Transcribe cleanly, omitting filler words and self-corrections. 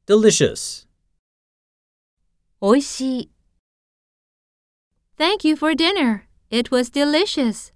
delicious. おいしい。Thank you for dinner. It was delicious.